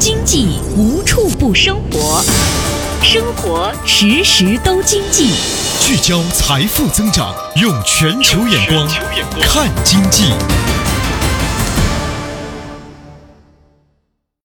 经济无处不生活，生活时时都经济。 聚焦财富增长，用全球眼光看经济。